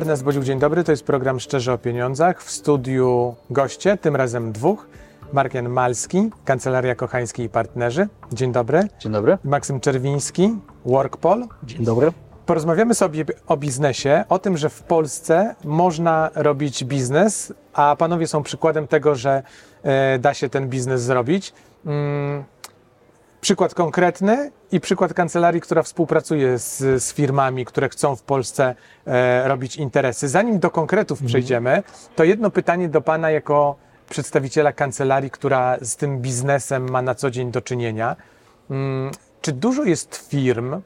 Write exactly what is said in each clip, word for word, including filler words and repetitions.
Ernest Bodziuk, dzień dobry. To jest program Szczerze o Pieniądzach. W studiu goście, tym razem dwóch. Marek Malski, Kancelaria Kochański i Partnerzy. Dzień dobry. Dzień dobry. Maksym Czerwiński, Workpol. Dzień dobry. Porozmawiamy sobie o biznesie, o tym, że w Polsce można robić biznes, a panowie są przykładem tego, że e, da się ten biznes zrobić. Mm, przykład konkretny i przykład kancelarii, która współpracuje z, z firmami, które chcą w Polsce e, robić interesy. Zanim do konkretów mhm. przejdziemy, to jedno pytanie do pana jako przedstawiciela kancelarii, która z tym biznesem ma na co dzień do czynienia. Mm, czy dużo jest firm,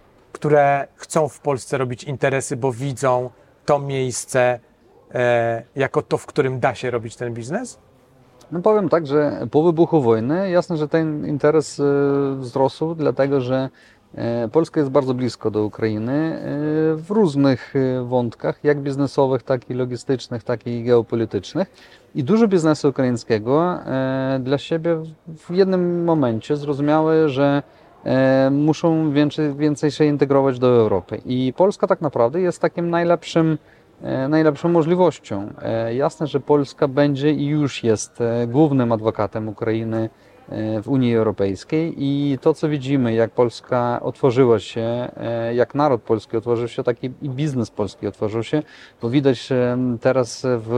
które chcą w Polsce robić interesy, bo widzą to miejsce e, jako to, w którym da się robić ten biznes? No powiem tak, że po wybuchu wojny jasne, że ten interes e, wzrósł, dlatego że e, Polska jest bardzo blisko do Ukrainy e, w różnych e, wątkach, jak biznesowych, tak i logistycznych, tak i geopolitycznych. I dużo biznesu ukraińskiego e, dla siebie w jednym momencie zrozumiały, że E, muszą więcej, więcej się integrować do Europy. I Polska tak naprawdę jest takim najlepszym, e, najlepszą możliwością. E, jasne, że Polska będzie i już jest e, głównym adwokatem Ukrainy e, w Unii Europejskiej i to, co widzimy, jak Polska otworzyła się, e, jak naród polski otworzył się, tak i, i biznes polski otworzył się, bo widać e, teraz w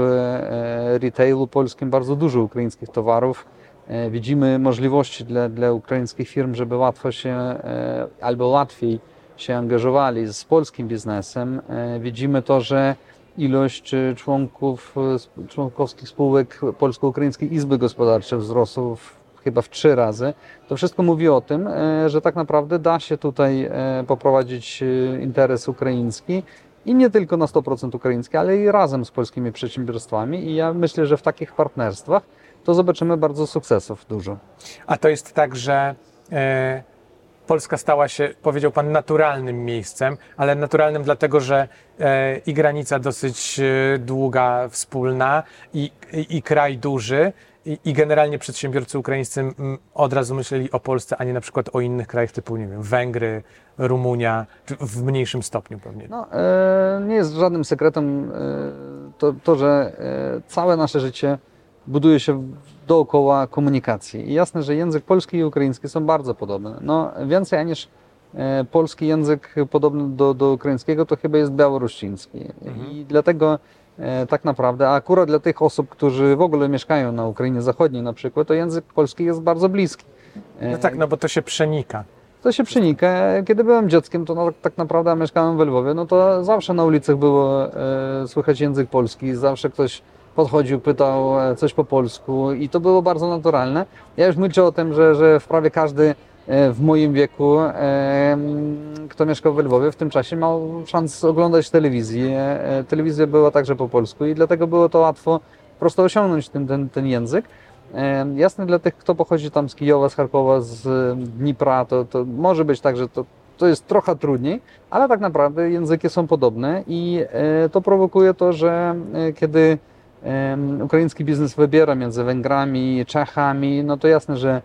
e, retailu polskim bardzo dużo ukraińskich towarów. Widzimy możliwości dla, dla ukraińskich firm, żeby łatwo się albo łatwiej się angażowali z polskim biznesem. Widzimy to, że ilość członków, członkowskich spółek Polsko-Ukraińskiej Izby Gospodarczej wzrosła chyba w trzy razy. To wszystko mówi o tym, że tak naprawdę da się tutaj poprowadzić interes ukraiński i nie tylko na sto procent ukraiński, ale i razem z polskimi przedsiębiorstwami. I ja myślę, że w takich partnerstwach to zobaczymy bardzo sukcesów dużo. A to jest tak, że e, Polska stała się, powiedział pan, naturalnym miejscem, ale naturalnym dlatego, że e, i granica dosyć e, długa, wspólna, i, i, i kraj duży, i, i generalnie przedsiębiorcy ukraińscy m, od razu myśleli o Polsce, a nie na przykład o innych krajach typu, nie wiem, Węgry, Rumunia, czy w mniejszym stopniu pewnie. No, e, nie jest żadnym sekretem e, to, to, że e, całe nasze życie buduje się dookoła komunikacji. I jasne, że język polski i ukraiński są bardzo podobne. No, więcej niż e, polski język podobny do, do ukraińskiego, to chyba jest białorusiński. Mhm. I dlatego e, tak naprawdę, a akurat dla tych osób, którzy w ogóle mieszkają na Ukrainie Zachodniej na przykład, to język polski jest bardzo bliski. E, no tak, no bo to się przenika. To się przenika. Kiedy byłem dzieckiem, to no, tak naprawdę mieszkałem w Lwowie, no to zawsze na ulicach było e, słychać język polski, zawsze ktoś podchodził, pytał coś po polsku i to było bardzo naturalne. Ja już milczę o tym, że, że w prawie każdy w moim wieku, kto mieszkał w Lwowie, w tym czasie miał szansę oglądać telewizję. Telewizja była także po polsku i dlatego było to łatwo prosto osiągnąć ten, ten, ten język. Jasne, dla tych, kto pochodzi tam z Kijowa, z Charkowa, z Dnipra, to, to może być tak, że to, to jest trochę trudniej, ale tak naprawdę języki są podobne i to prowokuje to, że kiedy Um, ukraiński biznes wybiera między Węgrami i Czechami, no to jasne, że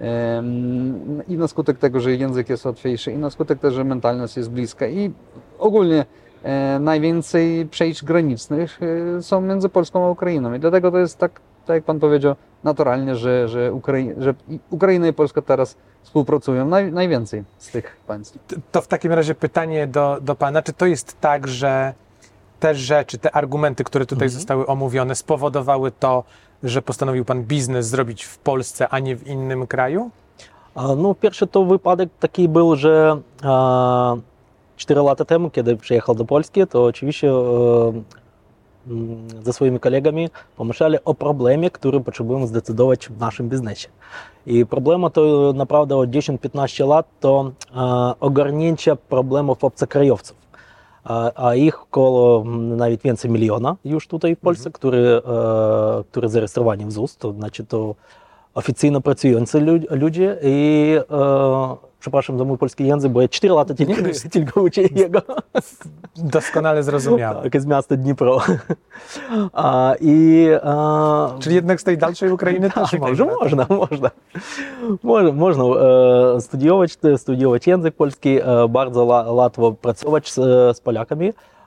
um, i na skutek tego, że język jest łatwiejszy, i na skutek tego, że mentalność jest bliska i ogólnie e, najwięcej przejść granicznych e, są między Polską a Ukrainą i dlatego to jest tak, tak jak pan powiedział, naturalnie, że, że, Ukrai- że Ukraina i Polska teraz współpracują naj, najwięcej z tych państw. To w takim razie pytanie do, do pana, czy to jest tak, że te rzeczy, te argumenty, które tutaj mhm. zostały omówione, spowodowały to, że postanowił pan biznes zrobić w Polsce, a nie w innym kraju? No, pierwszy to wypadek taki był, że cztery lata temu, kiedy przyjechał do Polski, to oczywiście ze swoimi kolegami pomyśleli o problemie, który potrzebujemy zdecydować w naszym biznesie. I problema to naprawdę od dziesięć-piętnaście lat to ogarnięcie problemów obcokrajowców. A ich około nawet więcej miliona już tutaj w Polsce, mm-hmm. które, które zarejestrowani w ZUS, to znaczy to oficjalnie pracujący ludzie i e, przepraszam za mój polski język, bo ja cztery lata tylko, tylko uczę jego. Doskonale zrozumiałem. Tak, z miasta Dnipro. A, i, a, Czyli jednak z tej dalszej Ukrainy też tak, może, można, można. Można, można e, studiować, studiować język polski, e, bardzo la, łatwo pracować z, z Polakami.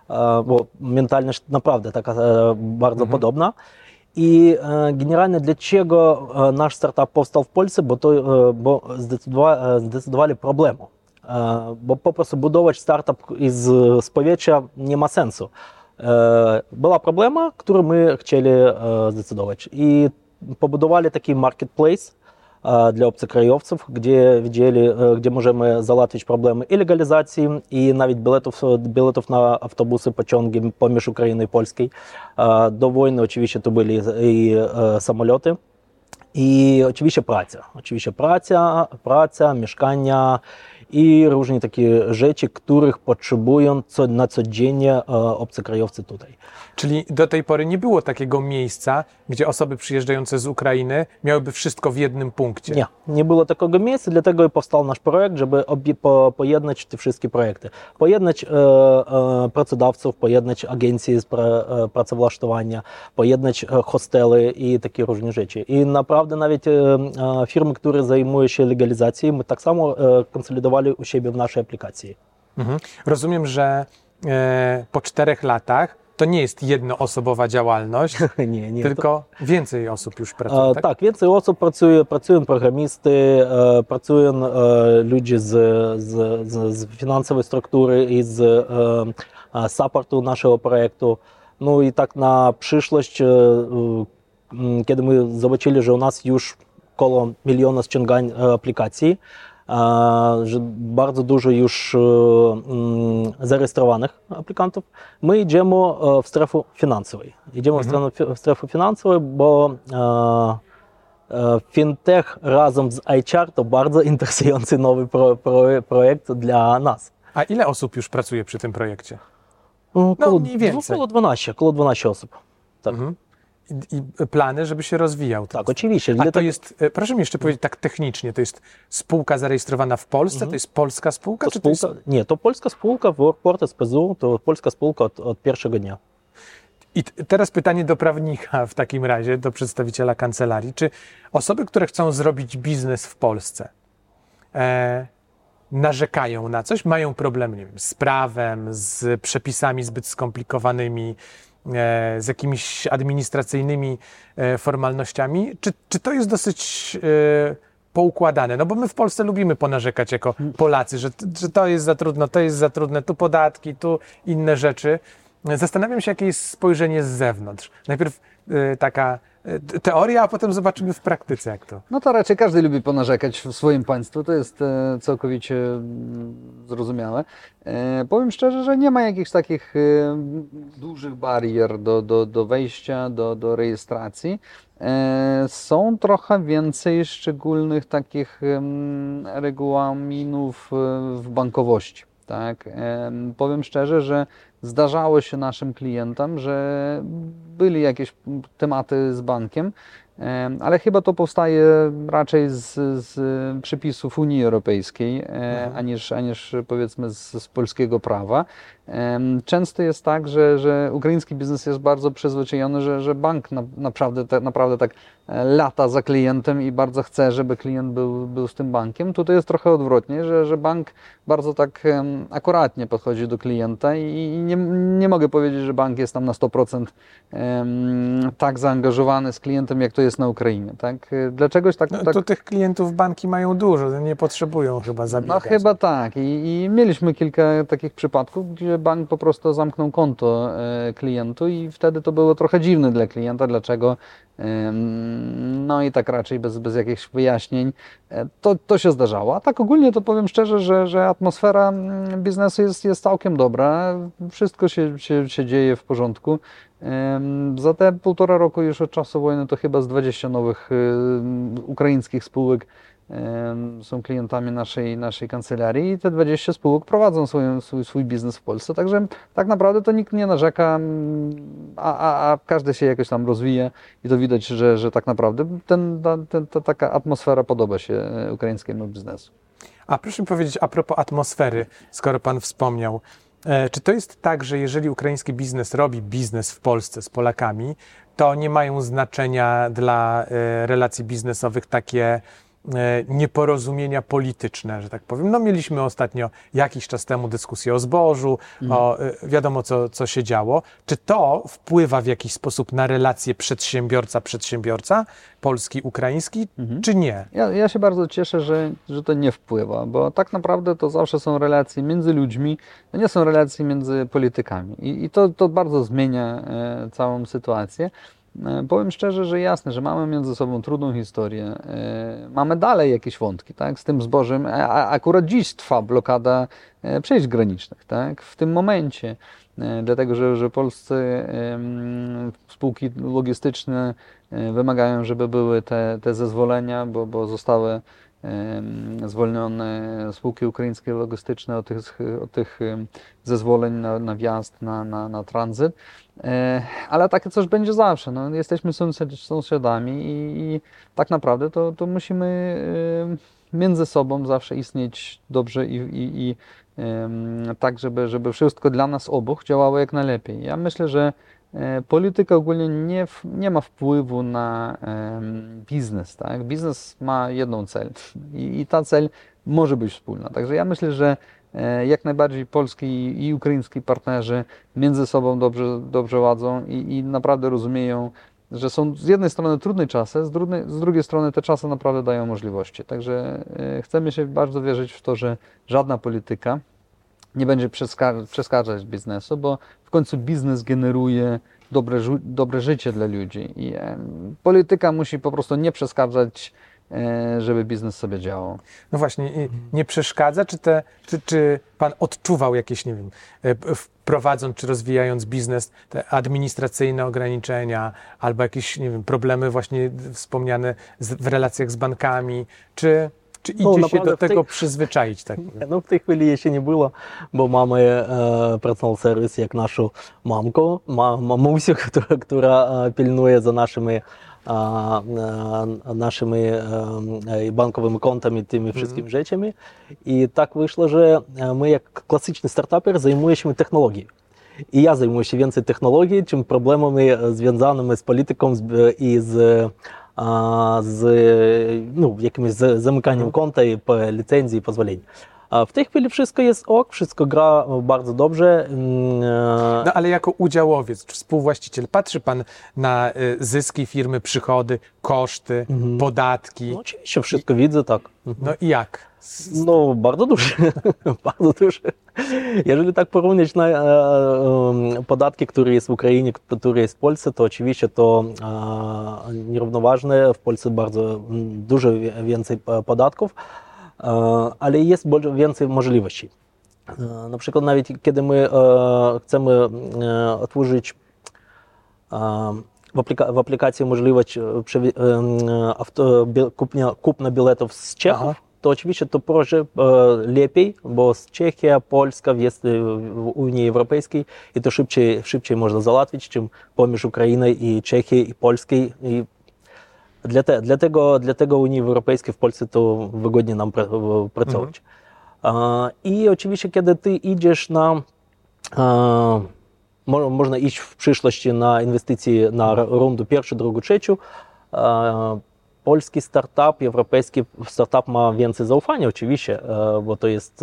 bo mentalność naprawdę taka bardzo Mhm. podobna. I generalnie dlaczego nasz startup powstał w Polsce, bo to bo zdecydowali, zdecydowali problemu. Bo po prostu budować startup z, z powietrza nie ma sensu. Była problema, którą my chcieli zdecydować. I pobudowali taki marketplace dla obcokrajowców, gdzie widzieli, gdzie możemy załatwić problemy i legalizacji, i nawet biletów, biletów na autobusy, pociągi pomiędzy Ukrainą i Polską. Do wojny oczywiście to byli i samoloty. I oczywiście praca. Oczywiście praca, praca, mieszkania i różne takie rzeczy, których potrzebują co, na codziennie obcokrajowcy tutaj. Czyli do tej pory nie było takiego miejsca, gdzie osoby przyjeżdżające z Ukrainy miałyby wszystko w jednym punkcie. Nie, nie było takiego miejsca, dlatego i powstał nasz projekt, żeby obie, po, pojednać te wszystkie projekty. Pojednać e, e, pracodawców, pojednać agencje z pra, e, pracowłasztowania, pojednać e, hostele i takie różne rzeczy. I naprawdę nawet e, e, firmy, które zajmują się legalizacją, my tak samo e, konsolidowali u siebie w naszej aplikacji. Mhm. Rozumiem, że e, po czterech latach to nie jest jednoosobowa działalność, nie, nie, tylko to... więcej osób już pracuje, e, tak? Tak, więcej osób pracuje, pracują programisty, e, pracują e, ludzie z, z, z, z finansowej struktury i z e, supportu naszego projektu. No i tak na przyszłość, e, e, kiedy my zobaczyli, że u nas już około miliona ściągań aplikacji, że bardzo dużo już zarejestrowanych aplikantów, my idziemy w strefę finansową. Idziemy mhm. w strefę finansową, bo fintech razem z H R to bardzo interesujący nowy pro, pro, projekt dla nas. A ile osób już pracuje przy tym projekcie? Około, no mniej więcej. Około dwanaście, około dwanaście osób. Tak. Mhm. I, I plany, żeby się rozwijał. Tak, oczywiście. A to jest, proszę mi jeszcze powiedzieć tak technicznie, to jest spółka zarejestrowana w Polsce, mhm. to jest polska spółka? To czy spółka to jest... Nie, to polska spółka, Workport S P Z U, to polska spółka od, od pierwszego dnia. I t- teraz pytanie do prawnika w takim razie, do przedstawiciela kancelarii. Czy osoby, które chcą zrobić biznes w Polsce, e, narzekają na coś, mają problem, nie wiem, z prawem, z przepisami zbyt skomplikowanymi, z jakimiś administracyjnymi formalnościami, czy, czy to jest dosyć e, poukładane? No bo my w Polsce lubimy ponarzekać jako Polacy, że, że to jest za trudno, to jest za trudne, tu podatki, tu inne rzeczy. Zastanawiam się, jakie jest spojrzenie z zewnątrz. Najpierw e, taka e, teoria, a potem zobaczymy w praktyce, jak to. No to raczej każdy lubi ponarzekać w swoim państwu, to jest e, całkowicie zrozumiałe. E, powiem szczerze, że nie ma jakichś takich e, dużych barier do, do, do wejścia, do, do rejestracji. E, są trochę więcej szczególnych takich e, regulaminów e, w bankowości. Tak? E, powiem szczerze, że zdarzało się naszym klientom, że byli jakieś tematy z bankiem, ale chyba to powstaje raczej z, z przepisów Unii Europejskiej, mhm. aniż, aniż powiedzmy z, z polskiego prawa. Często jest tak, że, że ukraiński biznes jest bardzo przyzwyczajony, że, że bank na, naprawdę, tak, naprawdę tak lata za klientem i bardzo chce, żeby klient był, był z tym bankiem. Tutaj jest trochę odwrotnie, że, że bank bardzo tak akuratnie podchodzi do klienta i nie, nie mogę powiedzieć, że bank jest tam na sto procent tak zaangażowany z klientem, jak to jest na Ukrainie. Tak? Dlaczegoś tak, no, tak... To tych klientów banki mają dużo, nie potrzebują chyba zabiegać. No chyba tak. I, i mieliśmy kilka takich przypadków, gdzie bank po prostu zamknął konto e, klientu i wtedy to było trochę dziwne dla klienta, dlaczego. E, no i tak raczej bez, bez jakichś wyjaśnień e, to, to się zdarzało. A tak ogólnie to powiem szczerze, że, że atmosfera biznesu jest, jest całkiem dobra. Wszystko się, się, się dzieje w porządku. Za te półtora roku już od czasu wojny to chyba z dwudziestu nowych ukraińskich spółek są klientami naszej, naszej kancelarii i te dwadzieścia spółek prowadzą swój, swój, swój biznes w Polsce. Także tak naprawdę to nikt nie narzeka, a, a, a każdy się jakoś tam rozwija i to widać, że, że tak naprawdę ten, ta, ten, ta taka atmosfera podoba się ukraińskiemu biznesu. A proszę mi powiedzieć, a propos atmosfery, skoro Pan wspomniał, czy to jest tak, że jeżeli ukraiński biznes robi biznes w Polsce z Polakami, to nie mają znaczenia dla relacji biznesowych takie nieporozumienia polityczne, że tak powiem. No mieliśmy ostatnio jakiś czas temu dyskusję o zbożu, mhm. o, wiadomo co, co się działo. Czy to wpływa w jakiś sposób na relacje przedsiębiorca-przedsiębiorca, polski-ukraiński, mhm. czy nie? Ja, ja się bardzo cieszę, że, że to nie wpływa, bo tak naprawdę to zawsze są relacje między ludźmi, to nie są relacje między politykami i, i to, to bardzo zmienia e, całą sytuację. Powiem szczerze, że jasne, że mamy między sobą trudną historię. Mamy dalej jakieś wątki, tak? Z tym zbożem. A akurat dziś trwa blokada przejść granicznych, tak? W tym momencie, dlatego że, że polscy spółki logistyczne wymagają, żeby były te, te zezwolenia, bo, bo zostały zwolnione spółki ukraińskie logistyczne od tych, od tych zezwoleń na, na wjazd, na, na, na tranzyt. Ale takie coś będzie zawsze. No, jesteśmy sąsiadami i, i tak naprawdę to, to musimy między sobą zawsze istnieć dobrze i, i, i tak, żeby, żeby wszystko dla nas obu działało jak najlepiej. Ja myślę, że polityka ogólnie nie, nie ma wpływu na um, biznes. Tak? Biznes ma jedną cel i, i ta cel może być wspólna. Także ja myślę, że e, jak najbardziej polski i ukraiński partnerzy między sobą dobrze, dobrze ładzą i, i naprawdę rozumieją, że są z jednej strony trudne czasy, z drugiej, z drugiej strony te czasy naprawdę dają możliwości. Także e, chcemy się bardzo wierzyć w to, że żadna polityka nie będzie przeszkadzać biznesu, bo w końcu biznes generuje dobre, dobre życie dla ludzi i e, polityka musi po prostu nie przeszkadzać, e, żeby biznes sobie działał. No właśnie, nie przeszkadza? Czy, te, czy, czy Pan odczuwał jakieś, nie wiem, wprowadząc czy rozwijając biznes, te administracyjne ograniczenia albo jakieś, nie wiem, problemy właśnie wspomniane z, w relacjach z bankami, czy... Czy idzie no, się do tego tej... przyzwyczaić? Tak? No w tej chwili jeszcze nie było, bo mamy e, personal service jak naszą mamkę, ma, mamusię, która, która pilnuje za naszymi, e, e, naszymi e, bankowymi kontami, tymi wszystkimi mm. rzeczami. I tak wyszło, że my jak klasyczny startuper zajmujemy się technologią. I ja zajmuję się więcej technologiей, czym problemami związanymi z polityką i z z no, jakimś zamykaniem konta i licencji i pozwoleń. W tej chwili wszystko jest ok, wszystko gra bardzo dobrze. No ale jako udziałowiec, czy współwłaściciel, patrzy Pan na zyski firmy, przychody, koszty, mhm. podatki? No oczywiście, wszystko I, widzę, tak. No i jak? No bardzo duże, bardzo duże. Jeżeli tak porównać na e, e, podatki, które jest w Ukrainie, które jest w Polsce, to oczywiście to e, nierównoważne. W Polsce bardzo dużo więcej podatków, e, ale jest więcej możliwości. E, na przykład nawet kiedy my e, chcemy e, otworzyć e, w, aplika w aplikacji możliwość e, auto, kupnia, kupna biletów z Czechów, Aha. to oczywiście to proszę e, lepiej, bo Czechia, Polska jest w Unii Europejskiej i to szybciej, szybciej można załatwić, czym pomiędzy Ukrainą i Czechii i Polskiej. I dla, te, dlatego, dlatego Unii Europejskiej w Polsce to wygodnie nam pracować. Mhm. E, I oczywiście kiedy ty idziesz na e, można iść w przyszłości na inwestycje na rundę pierwszą, drugą, trzecią. E, Polski startup, europejski startup ma więcej zaufania oczywiście, bo to jest,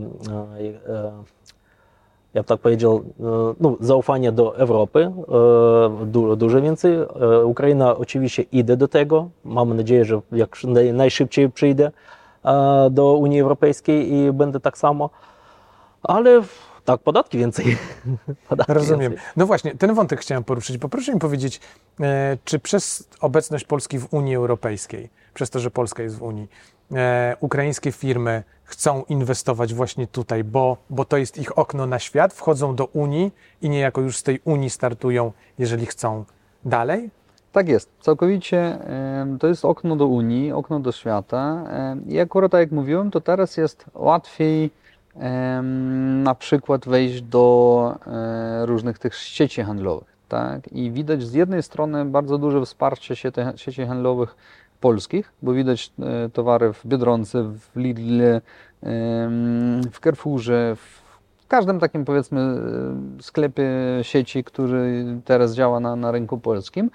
ja bym tak powiedział, no, zaufanie do Europy, du, dużo więcej. Ukraina oczywiście idzie do tego, mamy nadzieję, że jak najszybciej przyjdzie do Unii Europejskiej i będzie tak samo, ale tak, podatki więcej. Podatki Rozumiem. Więcej. No właśnie, ten wątek chciałem poruszyć, bo proszę mi powiedzieć, e, czy przez obecność Polski w Unii Europejskiej, przez to, że Polska jest w Unii, e, ukraińskie firmy chcą inwestować właśnie tutaj, bo, bo to jest ich okno na świat, wchodzą do Unii i niejako już z tej Unii startują, jeżeli chcą dalej? Tak jest, całkowicie to jest okno do Unii, okno do świata i akurat tak jak mówiłem, to teraz jest łatwiej na przykład wejść do różnych tych sieci handlowych, tak? I widać z jednej strony bardzo duże wsparcie sieci handlowych polskich, bo widać towary w Biedronce, w Lidl, w Carrefourze, w każdym takim powiedzmy sklepie sieci, który teraz działa na, na rynku polskim.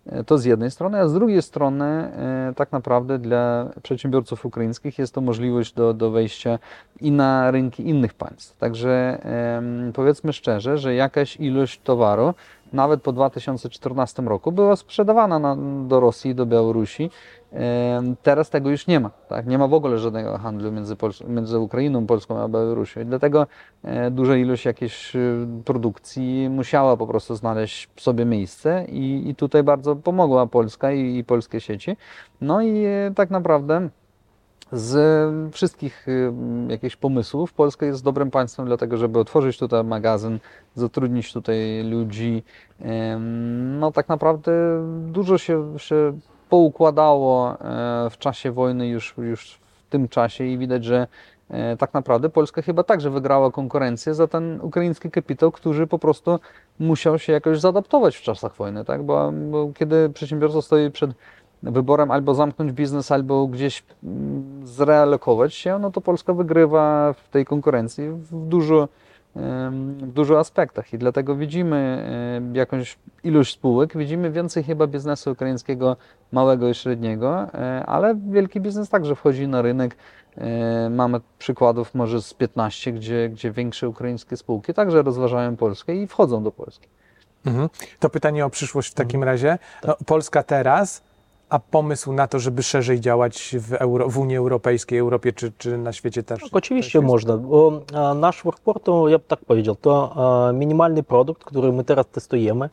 To z jednej strony, a z drugiej strony tak naprawdę dla przedsiębiorców ukraińskich jest to możliwość do, do wejścia i na rynki innych państw. Także powiedzmy szczerze, że jakaś ilość towaru nawet po dwa tysiące czternastym roku była sprzedawana na, do Rosji, do Białorusi. Teraz tego już nie ma. Tak? Nie ma w ogóle żadnego handlu między, Pols- między Ukrainą, Polską a Białorusią. I dlatego duża ilość jakiejś produkcji musiała po prostu znaleźć sobie miejsce i, i tutaj bardzo pomogła Polska i, i polskie sieci. No i tak naprawdę z wszystkich jakichś pomysłów Polska jest dobrym państwem dlatego, żeby otworzyć tutaj magazyn, zatrudnić tutaj ludzi. No tak naprawdę dużo się, się poukładało w czasie wojny już, już w tym czasie i widać, że tak naprawdę Polska chyba także wygrała konkurencję za ten ukraiński kapitał, który po prostu musiał się jakoś zaadaptować w czasach wojny, tak? Bo, bo kiedy przedsiębiorca stoi przed wyborem albo zamknąć biznes, albo gdzieś zrealokować się, no to Polska wygrywa w tej konkurencji w dużo, w dużo aspektach i dlatego widzimy jakąś ilość spółek, widzimy więcej chyba biznesu ukraińskiego małego i średniego, ale wielki biznes także wchodzi na rynek. Mamy przykładów może z piętnastu, gdzie, gdzie większe ukraińskie spółki także rozważają Polskę i wchodzą do Polski. Mhm. To pytanie o przyszłość w takim razie. No, Polska teraz, a pomysł na to, żeby szerzej działać w, Euro, w Unii Europejskiej, Europie czy, czy na świecie też? Tak, oczywiście można. Bo nasz workport, to ja bym tak powiedział, to minimalny produkt, który my teraz testujemy.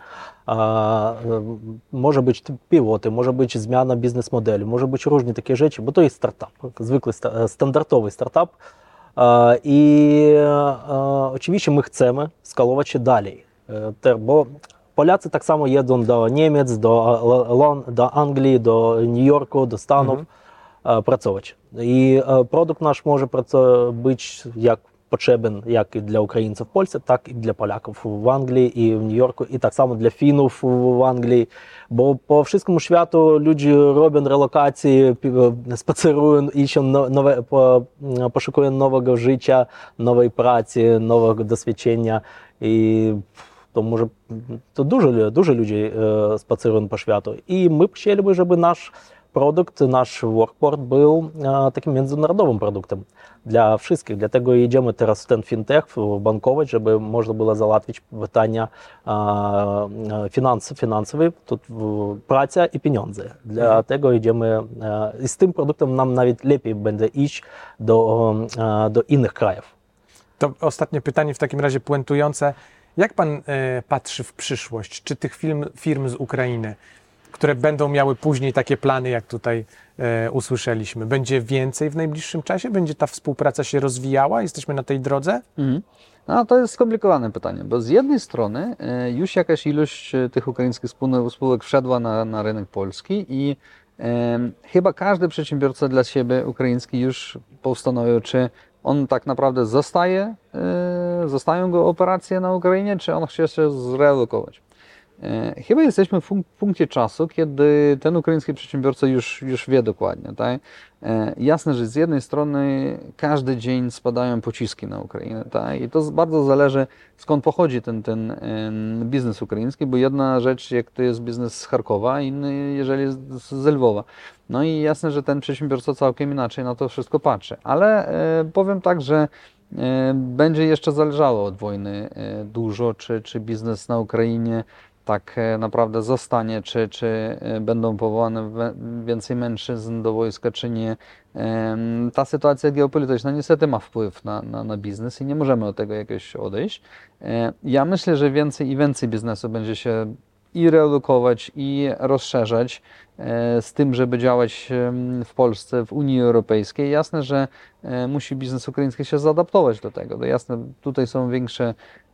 Może być piloty, może być zmiana biznes modeli, może być różne takie rzeczy, bo to jest startup, zwykły standardowy startup. I oczywiście my chcemy skalować się dalej, bo Polacy tak samo jedzą do Niemiec, do, do Anglii, do New Yorku, do Stanów mhm. pracować. I produkt nasz może być jak potrzebny jak i dla Ukraińców w Polsce, tak i dla Polaków w Anglii i w New Yorku, i tak samo dla Finów w Anglii, bo po wszystkim światu ludzie robią relokacje, spacerują, ищą nowe, poszukują nowego życia, nowej pracy, nowego doświadczenia i to może to dużo, dużo ludzi e, spacerują po światu i my chcieliby, żeby nasz produkt, nasz workport był e, takim międzynarodowym produktem dla wszystkich. Dlatego idziemy teraz w ten fintech, bankować, żeby można było załatwić pytania e, finans, finansowe, to praca i pieniądze. Dlatego idziemy e, i z tym produktem nam nawet lepiej będzie iść do, e, do innych krajów. To ostatnie pytanie w takim razie puentujące. Jak pan e, patrzy w przyszłość? Czy tych firm, firm z Ukrainy, które będą miały później takie plany, jak tutaj e, usłyszeliśmy, będzie więcej w najbliższym czasie? Będzie ta współpraca się rozwijała? Jesteśmy na tej drodze? Mhm. No, to jest skomplikowane pytanie, bo z jednej strony e, już jakaś ilość tych ukraińskich spółek wszedła na, na rynek polski i e, chyba każdy przedsiębiorca dla siebie ukraiński już postanowił, czy on tak naprawdę zostaje, yy, zostają go operacje na Ukrainie, czy on chce się zrealokować. Yy, chyba jesteśmy w punkcie czasu, kiedy ten ukraiński przedsiębiorca już, już wie dokładnie. Tak? Yy, jasne, że z jednej strony każdy dzień spadają pociski na Ukrainę. Tak? I to bardzo zależy, skąd pochodzi ten, ten yy, biznes ukraiński, bo jedna rzecz, jak to jest biznes z Charkowa, inny, jeżeli jest z Lwowa. No i jasne, że ten przedsiębiorca całkiem inaczej na to wszystko patrzy. Ale e, powiem tak, że e, będzie jeszcze zależało od wojny e, dużo, czy, czy biznes na Ukrainie tak e, naprawdę zostanie, czy, czy e, będą powołane we, więcej mężczyzn do wojska, czy nie. E, ta sytuacja geopolityczna niestety ma wpływ na, na, na biznes i nie możemy od tego jakoś odejść. E, ja myślę, że więcej i więcej biznesu będzie się i relokować, i rozszerzać z tym, żeby działać w Polsce, w Unii Europejskiej. Jasne, że musi biznes ukraiński się zaadaptować do tego. To jasne, tutaj są większe,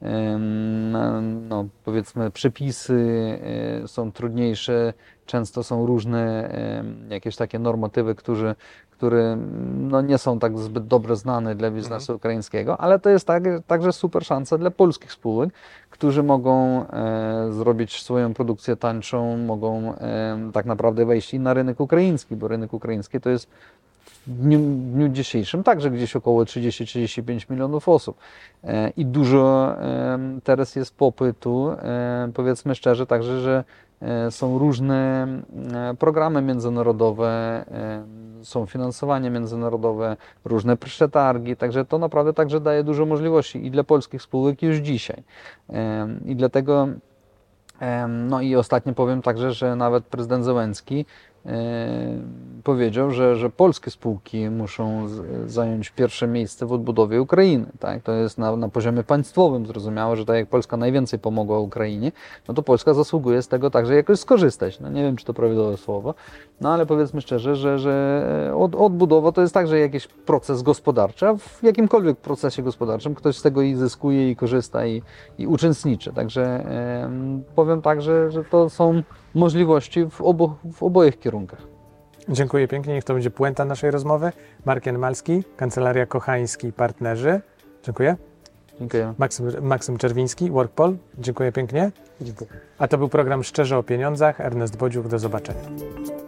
no, powiedzmy, przepisy, są trudniejsze, często są różne jakieś takie normatywy, które, które no, nie są tak zbyt dobrze znane dla biznesu ukraińskiego, ale to jest tak, także super szansa dla polskich spółek, którzy mogą e, zrobić swoją produkcję tańszą, mogą e, tak naprawdę wejść i na rynek ukraiński, bo rynek ukraiński to jest w dniu, w dniu dzisiejszym także gdzieś około trzydzieści do trzydziestu pięciu milionów osób. E, I dużo e, teraz jest popytu, e, powiedzmy szczerze, także, że e, są różne e, programy międzynarodowe, e, są finansowania międzynarodowe, różne przetargi, także to naprawdę także daje dużo możliwości i dla polskich spółek już dzisiaj. E, I dlatego, e, no i ostatnio powiem także, że nawet prezydent Zełenski powiedział, że, że polskie spółki muszą z, zająć pierwsze miejsce w odbudowie Ukrainy. Tak? To jest na, na poziomie państwowym zrozumiałe, że tak jak Polska najwięcej pomogła Ukrainie, no to Polska zasługuje z tego także jakoś skorzystać. No nie wiem, czy to prawidłowe słowo, no ale powiedzmy szczerze, że, że od, odbudowa to jest także jakiś proces gospodarczy, a w jakimkolwiek procesie gospodarczym ktoś z tego i zyskuje, i korzysta, i, i uczestniczy. Także e, powiem tak, że, że to są możliwości w, obu, w obojych kierunkach. Dziękuję pięknie, niech to będzie puenta naszej rozmowy. Marek Janmalski, Kancelaria Kochański i Partnerzy. Dziękuję. Dziękuję. Maksym, Maksym Czerwiński, WorkPol. Dziękuję pięknie. Dziękuję. A to był program Szczerze o Pieniądzach. Ernest Bodziuk, do zobaczenia.